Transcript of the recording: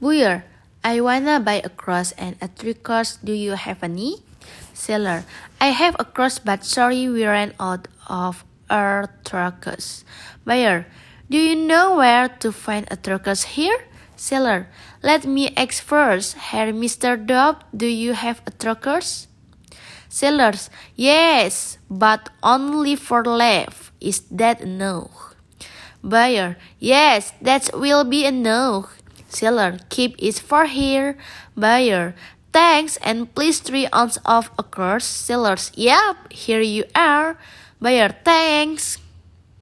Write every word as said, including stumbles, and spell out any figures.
Buyer, I wanna buy a cross and a three course. Do you have any? Seller, I have a cross but sorry we ran out of our turkeys. Buyer, do you know where to find a turkeys here? Seller, let me ask first. Here, Mister Dobb, do you have a turkeys? Sellers, yes, but only for life. Is that a no? Buyer, yes, that will be a no. Seller, keep it for here. Buyer, thanks and please three ounces of a course. Sellers, yep, here you are. Buyer, thanks.